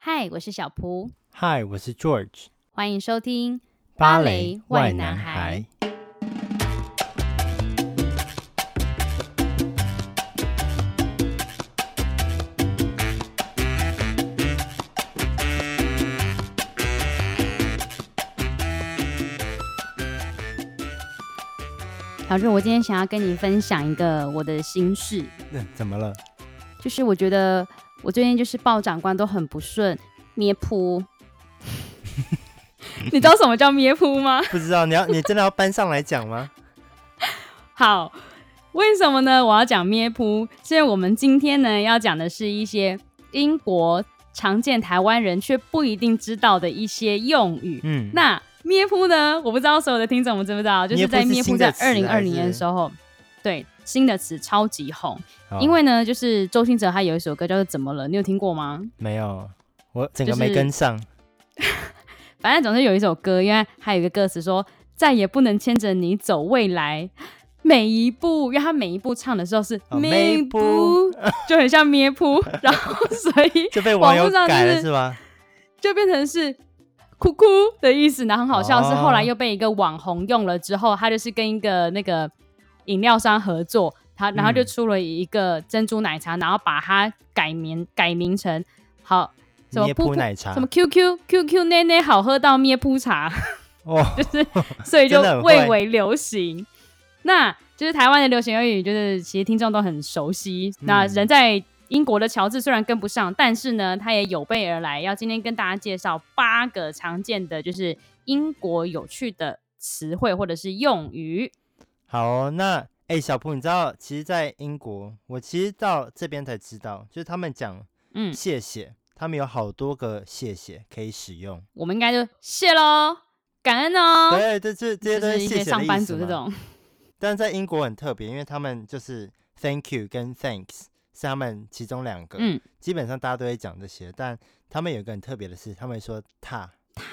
嗨，我是小蹼。 嗨，我是 George。 歡迎收聽芭蕾 外男孩。 小蹼，我今天想要跟你分享一個我的心事。 怎麼了？ 就是我覺得我最近就是報長官都很不順，咩噗。你知道什麼叫咩噗嗎？ 不知道，你真的要搬上來講嗎？ 好，為什麼呢？我要講咩噗，所以我們今天呢要講的是一些英國常見台灣人卻不一定知道的一些用語。那咩噗呢？我不知道所有的聽眾們知不知道，就是在咩噗在2020年的時候，對，新的詞超級紅。因為呢，就是周興哲他有一首歌叫做《怎麼了》，你有聽過嗎？ 沒有，我整個沒跟上。 反正總是有一首歌，因為還有一個歌詞說再也不能牽着你走未來每一步，因為他每一步唱的時候是咩噗，就很像咩噗，然後所以就被網友改了是吧？ 就變成是哭哭的意思。然後很好笑的是後來又被一個網紅用了之後，他就是跟一個那個飲料商合作，然後就出了一個珍珠奶茶，然後把它改名成好什麼咩噗奶茶， 什麼 QQ 奶奶好喝到咩噗茶，就是所以就蔚為流行。那就是台灣的流行用語，就是其實聽眾都很熟悉。那人在英國的喬治雖然跟不上，但是呢，他也有備而來，要今天跟大家介紹8個常見的就是英國有趣的詞彙或者是用語。 好哦，那小蹼，你知道其實在英國，我其實到這邊才知道，就是他們講謝謝，他們有好多個謝謝可以使用。 我們應該就謝咯，感恩哦。 對，這些都是謝謝的意思嘛，就是一些上班族這種。但是在英國很特別，因為他們就是 thank you 跟 thanks 是他們其中2個，基本上大家都會講這些，但他們有一個很特別的是，他們會說ta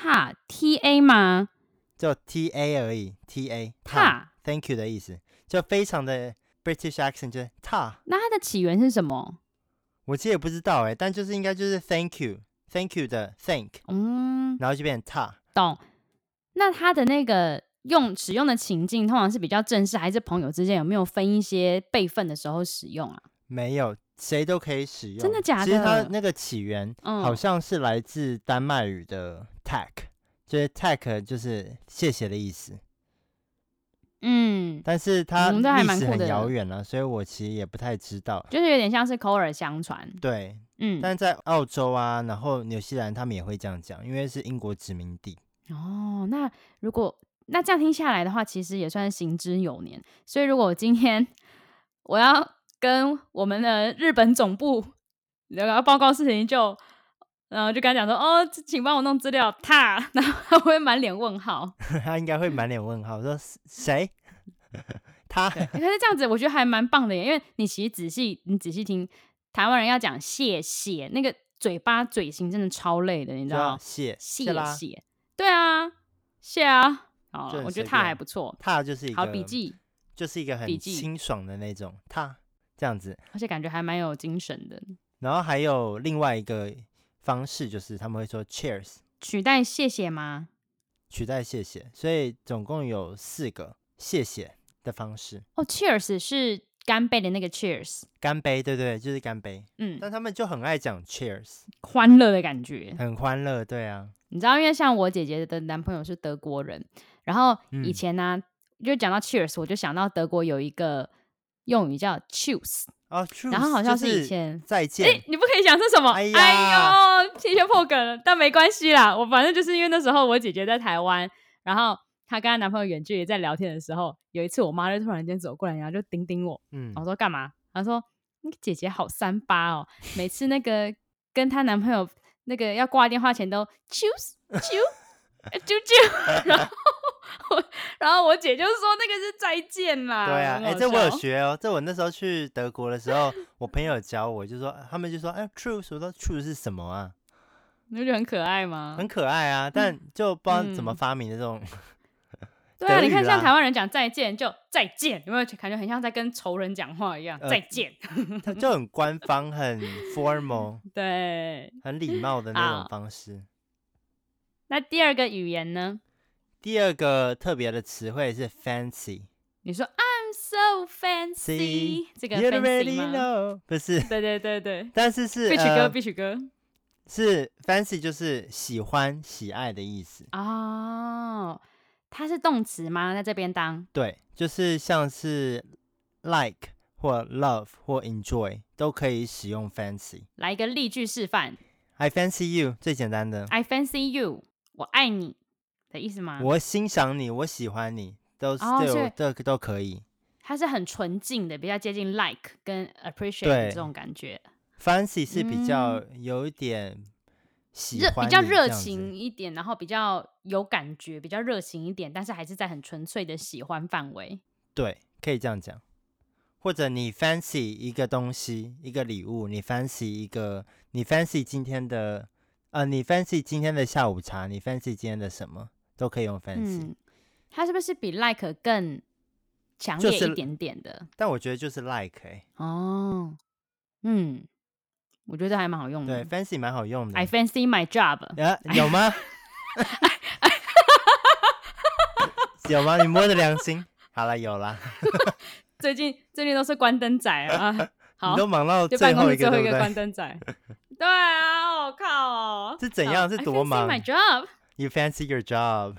ta 嗎？ 就 ta 而已 ta thank you 的意思，就非常的 British accent， 就是 ta。那它的起源是什麼？ 我其實也不知道但就是應該就是 thank you 的 thank，然後就變成 ta。 懂。那它的那個使用的情境通常是比較正式，還是朋友之間有沒有分一些輩分的時候使用啊？ 沒有，誰都可以使用。 真的假的？ 其實它那個起源好像是來自丹麥語的 tack，就是 tack 就是謝謝的意思。但是它歷史很遙遠了，所以我其實也不太知道， 就是有點像是口耳相傳。 對，但是在澳洲啊，然後紐西蘭他們也會這樣講，因為是英國殖民地。 那這樣聽下來的話，其實也算是行之有年。所以如果今天我要跟我們的日本總部要報告事情，就跟他講說請幫我弄資料，然後他會滿臉問號。 他應該會滿臉問號，說誰？他。 可是這樣子我覺得還蠻棒的耶，因為你其實仔細聽，台灣人要講謝謝，那個嘴型真的超累的，你知道嗎？謝，對啊，謝啊。我覺得他還不錯， 他就是一個好筆記， 就是一個很清爽的那種他這樣子， 而且感覺還蠻有精神的。 然後還有另外一個方式，就是他們會說 cheers， 取代謝謝嗎？ 取代謝謝，所以總共有4個謝謝的方式。 cheers 是乾杯的那個 cheers， 乾杯，對對，就是乾杯。但他們就很愛講 cheers， 歡樂的感覺， 很歡樂，對啊。 你知道，因為像我姐姐的男朋友是德國人，然後以前呢，就講到 cheers， 我就想到德國有一個用語叫 choose， 然後好像是以前再見。 你不可以講是什麼？哎呦，提前破梗了，但沒關係啦。我反正就是因為那時候我姐姐在台灣，然後她跟她男朋友遠距離在聊天的時候，有一次我媽就突然間走過來，然後就叮叮我，我說幹嘛？她說那個姐姐好38哦，每次那個跟她男朋友那個要掛電話前都 choose， 然後我姐就說那個是再見啦。 對啊，這我有學哦，這我那時候去德國的時候，我朋友教我，就說他們就說truce， 我說 truce 是什麼啊？ 你不覺得很可愛嗎？ 很可愛啊，但就不知道怎麼發明的這種對啊，你看像台灣人講再見就再見，有沒有感覺很像在跟仇人講話一樣？再見， 它就很官方，很 formal， 对， 很禮貌的那種方式。 那第二個語言呢？ 第二個特別的詞彙是 fancy。 你說 I'm so fancy， 這個 fancy 嗎？ 不是， 對， 但是是必須歌， 是 fancy 就是喜歡、喜愛的意思哦。它是動詞嗎？在這邊當？對， 就是像是 like 或 love 或 enjoy 都可以使用 fancy。 來一個例句示範。 I fancy you 最簡單的。 I fancy you， 我愛你的意思嗎？ 我欣賞你，我喜歡你，都可以。 它是很純淨的，比較接近 like 跟 appreciate 這種感覺。 Fancy 是比較有一點喜歡比較熱情一點，然後比較有感覺，比較熱情一點，但是還是在很純粹的喜歡範圍。对， 可以這樣講。或者你 fancy 一個東西，一個禮物，你 fancy 今天的你 fancy 今天的下午茶，你 fancy 今天的什麼，都可以用 fancy。 它是不是比 like 更強烈一點點的？ 但我覺得就是 like 我覺得還蠻好用的。 對 ，fancy 蠻好用的。 I fancy my job。 有嗎？有嗎？你摸着良心。好了，有啦。 最近都是關燈仔啊。好， 你都忙到最後一個關燈仔。對啊，我靠哦。 是怎樣？是多忙 ？I fancy my job。 You fancy your job。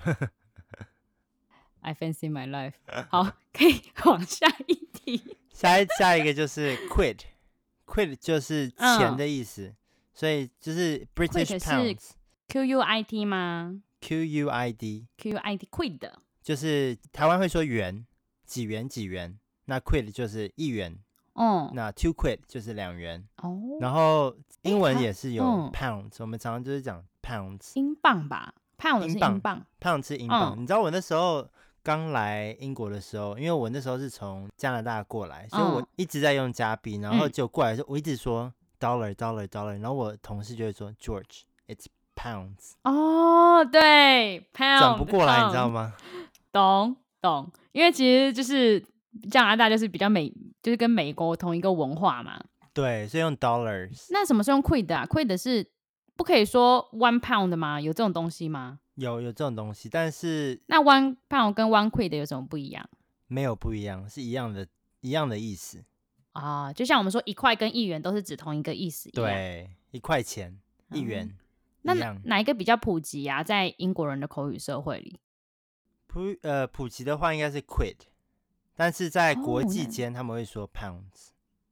I fancy my life。好，可以往下一題。 下一個就是 quid。quid 就是錢的意思，所以就是 British pounds。 QUIT 嗎 ？QUID。 quid 就是台灣會說元，幾元，那 quid 就是1元。那 2 quid 就是2元。然後英文也是有 pounds，我們常常就是講 pounds。 英鎊吧 ？pound 是英鎊 ，pound 是英鎊。你知道我那時候剛來英國的時候，因為我那時候是從加拿大過來，所以我一直在用加幣，然後就過來的時候我一直說 dollar， 然後我同事就會說 George it's pounds。 對 pound 轉不過來，你知道嗎？ 懂，因為其實就是加拿大就是比較就是跟美國同一個文化嘛。 對，所以用 dollars。 那什麼是用 quid 啊 ？quid 是不可以說 one pound 嗎？有這種東西嗎？ 有這種東西，但是那 one pound 跟 one quid 有什麼不一樣？ 沒有不一樣，是一樣的意思啊。就像我們說1塊跟1元都是指同一個意思一樣。 對，1塊錢1元。 那哪一個比較普及啊？在英國人的口語社會裡， 普及的話應該是 quid， 但是在國際間他們會說 pounds。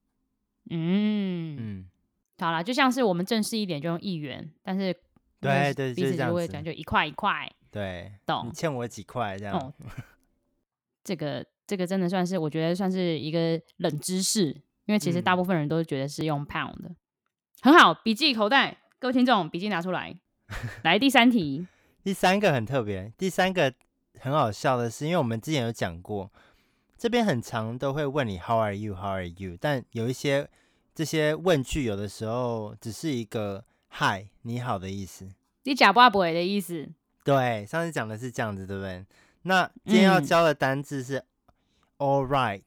好啦，就像是我們正式一點就用1元，但是對， 彼此就會講就1塊1塊。 對， 懂？ 你欠我幾塊這樣。 這個真的算是我覺得算是一個冷知識，因為其實大部分人都覺得是用 pound 的。很好，筆記口袋，各位聽眾筆記拿出來。來第3題。 第3個很特別，第3個很好笑的是，因為我們之前有講過，這邊很常都會問你 How are you？ 但有一些這些問句有的時候只是一個 Hi 你好的意思， 你假不不的意思。 對，上次講的是這樣子，對不對？那今天要教的單字是 All right。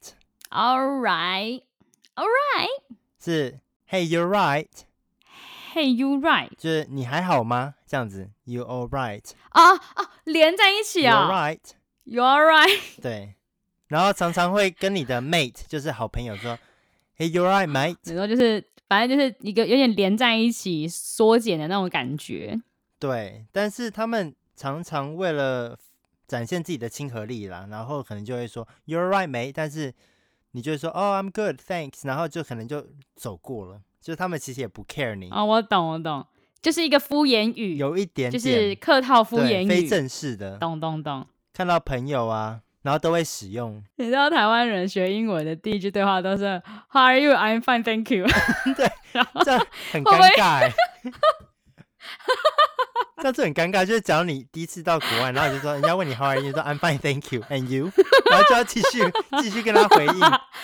是 Hey you're right。Hey you right 就是你還好嗎？這樣子 You all right。 連在一起啊。 You're right。 You're right。 對，然後常常會跟你的 mate 就是好朋友說 Hey you're right mate。 然後就是反正就是一個有點連在一起縮減的那種感覺。 對，但是他們常常為了展現自己的親和力啦，然後可能就會說 You're right mate， 但是你就會說I'm good thanks， 然後就可能就走過了，就他們其實也不 care 你。 我懂，就是一個敷衍語， 有一點點就是客套敷衍語， 非正式的。 懂。 看到朋友啊，然後都會使用。 你知道台灣人學英文的第一句對話都是 How are you? I'm fine, thank you。 對，這樣很尷尬。這樣子很尷尬，就是假如你第一次到國外，然後你就說人家問你 How are you？ 說 I'm fine, thank you and you， 然後就要繼續跟他回應。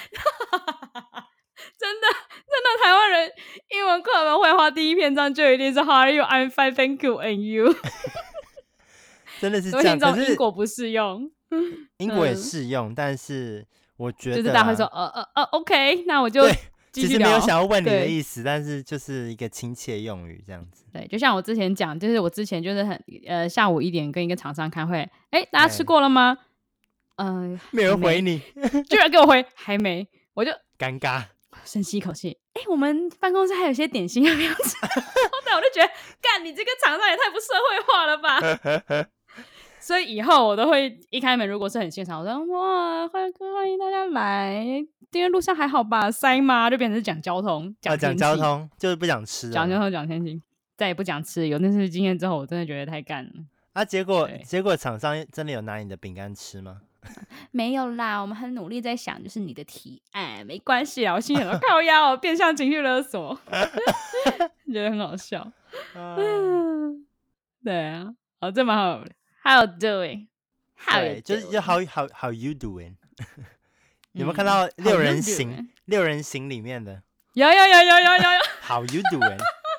真的，台灣人英文課本會話第一篇章就一定是 How are you? I'm fine, thank you and you。真的是這樣，可是英國不適用。 英國也適用，但是我覺得、 就是大家會說OK， 那我就其實沒有想要問你的意思，但是就是一個親切用語這樣子。 對，就像我之前講，就是我之前就是下午1點跟一个廠商開會，大家吃過了嗎？沒有人回你，居然給我回還沒，我就尷尬， 深吸一口氣。我們辦公室還有些點心要不要吃？對，我就覺得，幹你這個廠商也太不社會化了吧！所以以後我都會一開門，如果是很現場，我說哇，歡迎大家來。今天路上還好吧？塞嗎？就變成是講交通， 講交通，就是不講吃， 講交通，講天氣，再也不講吃。有那次經驗之後，我真的覺得太幹了。 結果廠商真的有拿你的餅乾吃嗎？ 沒有啦，我們很努力在想，就是你的提案，沒關係啊。我心裡想說靠腰哦，變相情緒勒索，覺得很好笑。對啊，這蠻好的。How you doing？ 對，就是 how you doing？ 有沒有看到六人行裡面的？ 有。 How you doing？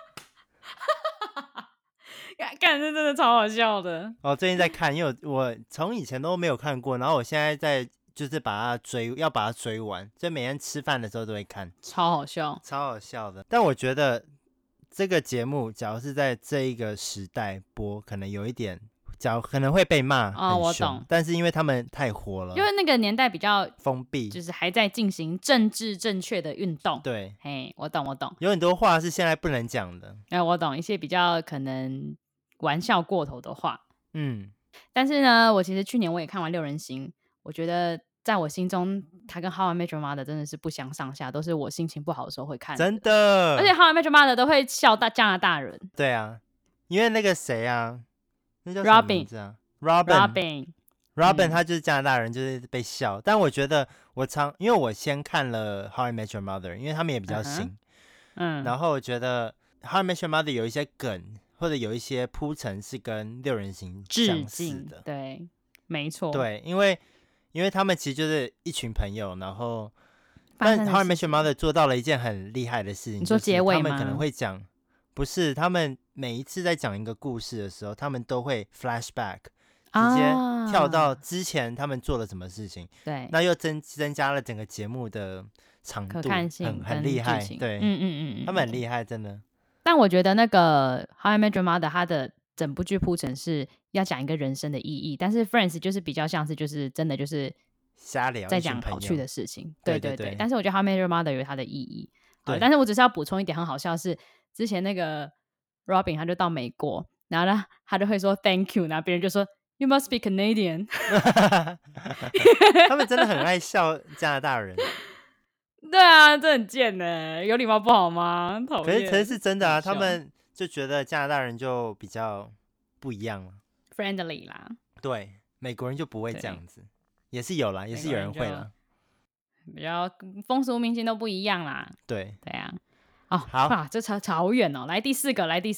幹，這真的超好笑的。 最近在看，因為我從以前都沒有看過，然後我現在在就是把它追完，所以每天吃飯的時候都會看， 超好笑的。但我覺得這個節目，假如是在這一個時代播，可能有一點。可能會被罵， 我懂， 但是因為他們太火了， 因為那個年代比較封閉， 就是還在進行政治正確的運動。 對， 我懂， 有很多話是現在不能講的。 我懂一些比較可能玩笑過頭的話。但是呢，我其實去年我也看完六人行，我覺得在我心中，他跟 How I Met Your Mother 真的是不相上下，都是我心情不好的時候會看的。 真的， 而且 How I Met Your Mother 都會笑到加拿大人。 對啊，因為那個誰啊。那叫什麼名字啊？ Robin， 他就是加拿大人，就是被笑。但我覺得因為我先看了 How I Met Your Mother， 因為他們也比較新，然後我覺得 How I Met Your Mother 有一些梗或者有一些鋪陳是跟六人行相似的， 對，沒錯， 對，因為他們其實就是一群朋友，然後但 How I Met Your Mother 做到了一件很厲害的事情， 你說結尾嗎？ 就是他們可能會講。不是，他們每一次在講一個故事的時候，他們都會 flashback， 直接跳到之前他們做了什麼事情。 對， 那又增加了整個節目的長度， 可看性很厲害。對，他們很厲害，真的。 但我覺得那個 How I Met Your Mother 它的整部劇鋪陳是要講一個人生的意義，但是 Friends 就是比較像是就是真的就是瞎聊， 在講跑去的事情。對。但是我覺得 How I Met Your Mother 有它的意義。 對， 但是我只是要補充一點，很好笑是。之前那個 Robin 他就到美國，然後呢他就會說 Thank you， 然後別人就說 You must be Canadian。 他們真的很愛笑加拿大人。 對啊，這很賤呢，有禮貌不好嗎？討厭。 可是是真的啊，他們就覺得加拿大人就比較不一樣了 ，friendly 啦。 對，美國人就不會這樣子，也是有啦，也是有人會啦， 比較風俗民情都不一樣啦。 對啊。 好， 這差好遠哦。來第四個，第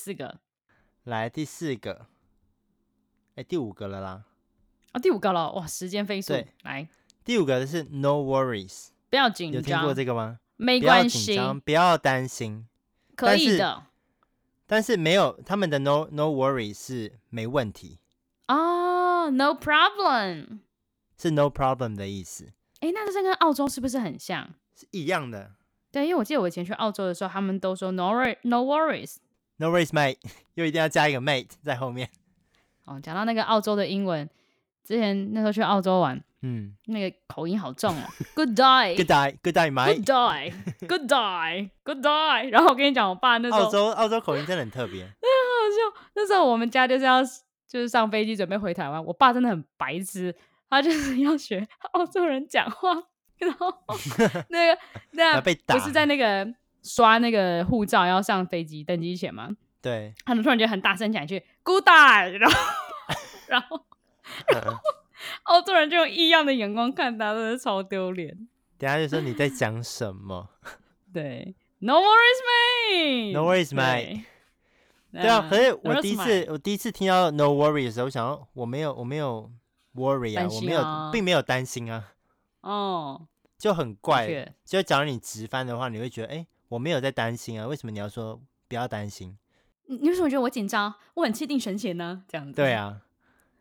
五個了啦。 第五個了，哇，時間飛速。來， 第五個是 No worries， 不要緊張。 有聽過這個嗎？ 沒關係， 不要擔心， 可以的。 但是沒有他們的 no worries 是沒問題。 No problem 是 no problem 的意思。 那這跟澳洲是不是很像？ 是一樣的。 對，因為我記得我以前去澳洲的時候，他們都說 no worries mate， 又一定要加一個 mate 在後面。 講到那個澳洲的英文，之前那時候去澳洲玩，那個口音好重哦。Good day mate。Good day。然後我跟你講，我爸那時候澳洲口音真的很特別，很好笑。那時候我們家就是上飛機準備回台灣，我爸真的很白痴，他就是要學澳洲人講話。然後那被打， 不是在那個刷那個護照要上飛機登機前嗎？ 對， 他們突然間很大聲講一句 Good day， 然後澳洲人就用異樣的眼光看他，真的超丟臉。 等下就說你在講什麼？ 對 ，No worries mate。 對啊，可是我第一次聽到 No worry 的時候，我想說我沒有 worry 啊，並沒有擔心啊。就很怪。就假如你直翻的話，你會覺得我沒有在擔心啊，為什麼你要說不要擔心？ 你為什麼覺得我緊張？我很氣定神閒呢？這樣子。 對啊，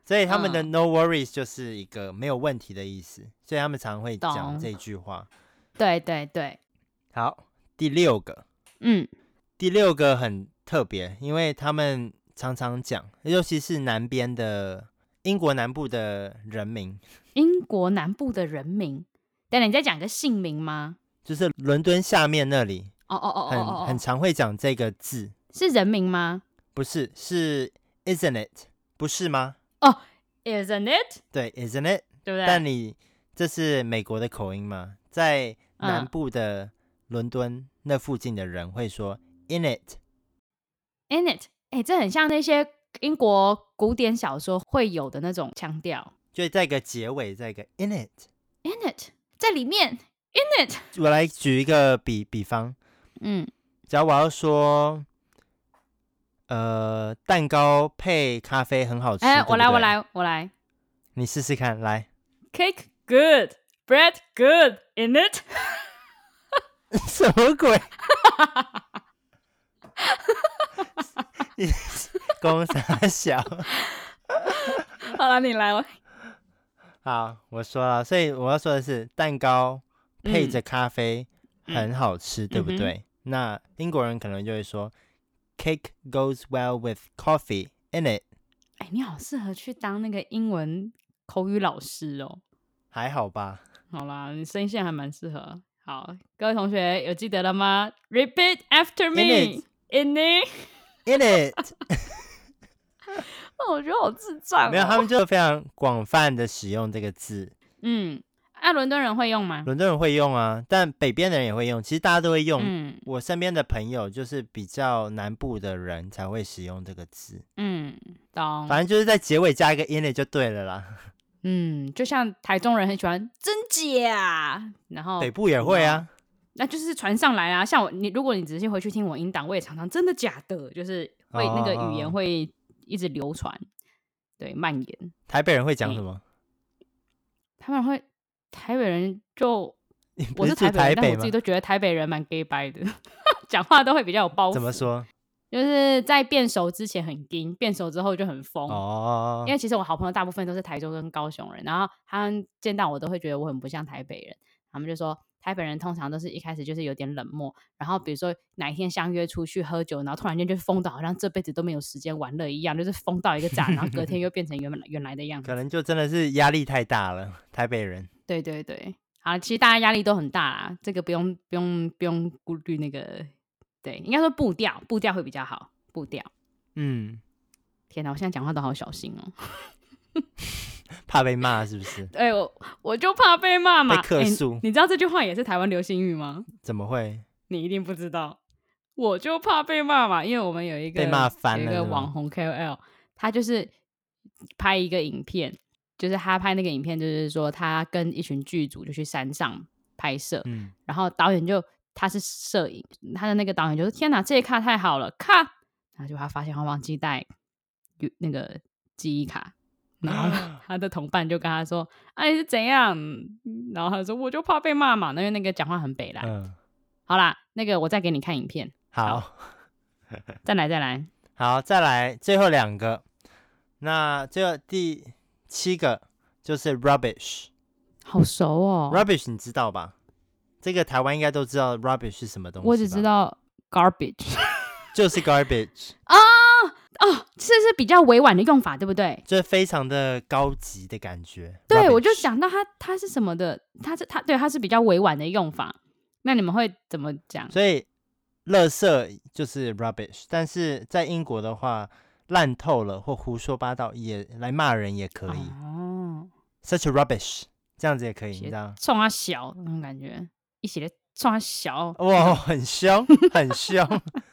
所以他們的 no worries 就是一個沒有問題的意思，所以他們常會講這句話。 對對對。好， 第6個，第6個很特別，因為他們常常講，尤其是南邊的英國南部的人名。 英國南部的人名，等等，你再講個姓名嗎？ 就是倫敦下面那裡。很常會講這個字。是人名嗎？ 不是，是 isn't it， 不是嗎？ Isn't it？ 對 ，isn't it， 對不對？ 但這是美國的口音嘛，在南部的倫敦那附近的人會說 in it。in it， 這很像那些英國古典小說會有的那種腔調，就在一個結尾，在一個 in it，in it， 在裡面 in it。 我來舉一個比方，假如我要說。蛋糕配咖啡很好吃。 我來， 你試試看，來。 Cake good, bread good, in it 。 什麼鬼？你公三小。 好了，你來。 好，我說了，所以我要說的是，蛋糕配着咖啡很好吃，對不對？那英國人可能就會說。Cake goes well with coffee in it。 你好適合去當那個英文口語老師哦。還好吧。 好啦，你聲線還蠻適合。好，各位同學有記得了嗎 ？Repeat after me. In it. In it. 我覺得好智障。 沒有，他們就非常廣泛的使用這個字。 倫敦人會用嗎？ 倫敦人會用啊，但北邊的人也會用。其實大家都會用。我身邊的朋友就是比較南部的人才會使用這個字。 懂。 反正就是在結尾加一個 in it 就對了啦。 就像台中人很喜歡真假，然後北部也會啊。 那就是傳上來啊。像如果你仔細回去聽我音檔，我也常常真的假的，就是會那個語言會一直流傳，對，蔓延。 台北人會講什麼？ 台北人就我是台北人，但我自己都覺得台北人蠻 gay 掰的，講話都會比較有包袱。 怎麼說？ 就是在變熟之前很硬，變熟之後就很瘋。因為其實我好朋友大部分都是台中跟高雄人，然後他們見到我都會覺得我很不像台北人，他們就說台北人通常都是一開始就是有點冷漠，然後比如說哪一天相約出去喝酒，然後突然間就瘋到好像這輩子都沒有時間玩樂一樣，就是瘋到一個炸，然後隔天又變成原來的樣子。 可能就真的是壓力太大了，台北人。 對對對，好，其實大家壓力都很大啦，這個不用顧慮那個，對，應該說步調會比較好，步調。天哪，我現在講話都好小心哦， 怕被罵是不是？ 對，我就怕被罵嘛， 被客訴。 你知道這句話也是台灣流行語嗎？ 怎麼會？ 你一定不知道，我就怕被罵嘛，因為我們有一個被罵翻了， 有一個網紅 KOL， 他就是拍一個影片。就是他拍那個影片，就是說他跟一群劇組就去山上拍攝，然後導演他是攝影，他的那個導演就說：“天哪，這一卡太好了，卡！”然後就他發現他忘記帶那個記憶卡，然後他的同伴就跟他說：“你是怎樣？”然後他就說：“我就怕被罵嘛。”因為那個講話很北爛。好啦，那個我再給你看影片。 好， 再來。 好，再來最後2個。那最後第7個就是 rubbish， 好熟哦。 rubbish 你知道吧？這個台灣應該都知道 rubbish 是什麼東西吧？ 我只知道 garbage， 就是 garbage 這是比較委婉的用法，對不對？ 就是非常的高級的感覺。 對， rubbish 我就想到它是什麼的，它是比較委婉的用法。那你們會怎麼講？ 所以垃圾就是 rubbish， 但是在英國的話，爛透了或胡說八道也來罵人也可以。such a rubbish 這樣子也可以，你知道？ 衝他小那種感覺，一起來衝他小， 哇，很凶，很凶。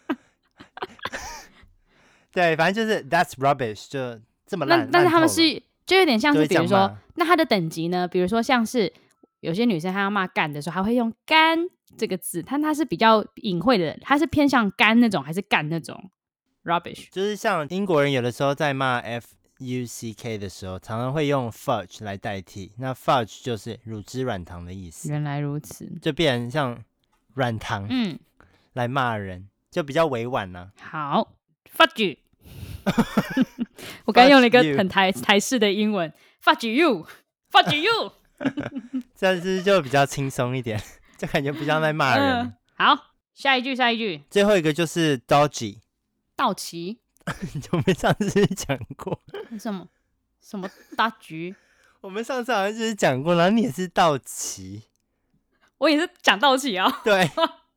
對，反正就是 that's rubbish， 就這麼爛。 但是他們是就有點像是，比如說，那他的等級呢？比如說像是有些女生她要罵幹的時候，她會用幹這個字，但它是比較隱晦的，它是偏向幹那種還是幹那種 rubbish？ 就是像英國人有的時候在罵 fuck 的時候，常常會用 fudge 來代替。那 fudge 就是乳汁軟糖的意思。 原來如此， 就變成像軟糖，來罵人，就比較委婉啊。 好 ，fudge 我剛用了一個很台式的英文 ，fuck you，fuck you， 這樣子就比較輕鬆一點，就感覺不像在罵人。 好，下一句， 最後一個就是 dodgy， 道奇。 我們上次講過什麼大橘？ 我們上次好像就是講過，然後你也是道奇， 我也是講道奇哦。 對，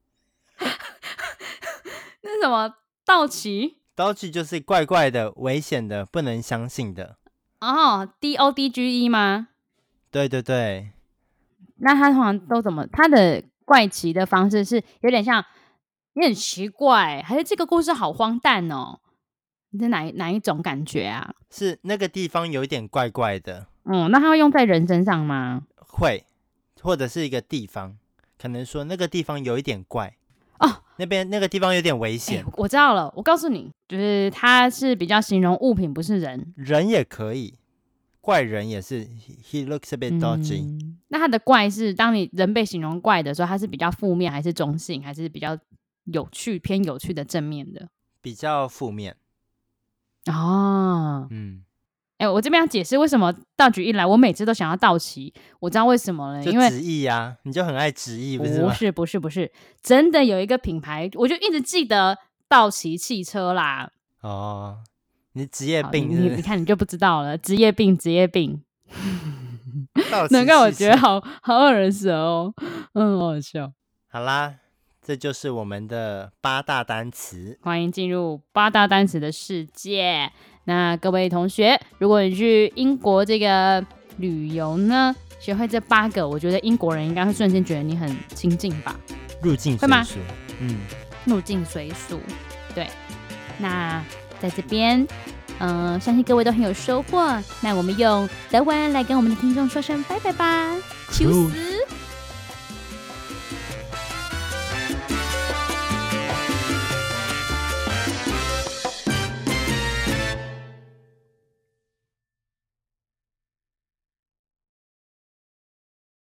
那是什麼道奇？ 道奇就是怪怪的、危險的、不能相信的。 哦 ，DODGE 嗎？ 对对對。 那他通常都怎麼？他的怪奇的方式是有點像，有點奇怪，還是這個故事好荒誕哦？你是哪一種感覺啊？ 是那個地方有一點怪怪的。 那它會用在人身上嗎？ 會，或者是一個地方，可能說那個地方有一點怪哦， 那個地方有點危險。 我知道了，我告訴你，就是它是比較形容物品，不是人。 人也可以，怪人也是。He looks a bit dodgy。 那它的怪是當你人被形容怪的時候，它是比較負面，還是中性，還是比較有趣、偏有趣的正面的？ 比較負面。 哦，我這邊要解釋為什麼道具一來，我每次都想要道奇。我知道為什麼了，因為直譯啊，你就很愛直譯，不是嗎？ 不是，真的有一個品牌，我就一直記得道奇汽車啦。 哦，你職業病是不是？ 你看你就不知道了，職業病。 難怪我覺得好耳熟哦，好好笑。 好啦。這就是我們的8大單詞， 歡迎進入8大單詞的世界。那各位同學，如果你去英國這個旅遊呢，學會這8個，我覺得英國人應該會瞬間覺得你很親近吧？ 入境隨俗， 入境隨俗。對，那在這邊，相信各位都很有收穫。那我們用德文來跟我們的聽眾說聲拜拜吧，Tschüss。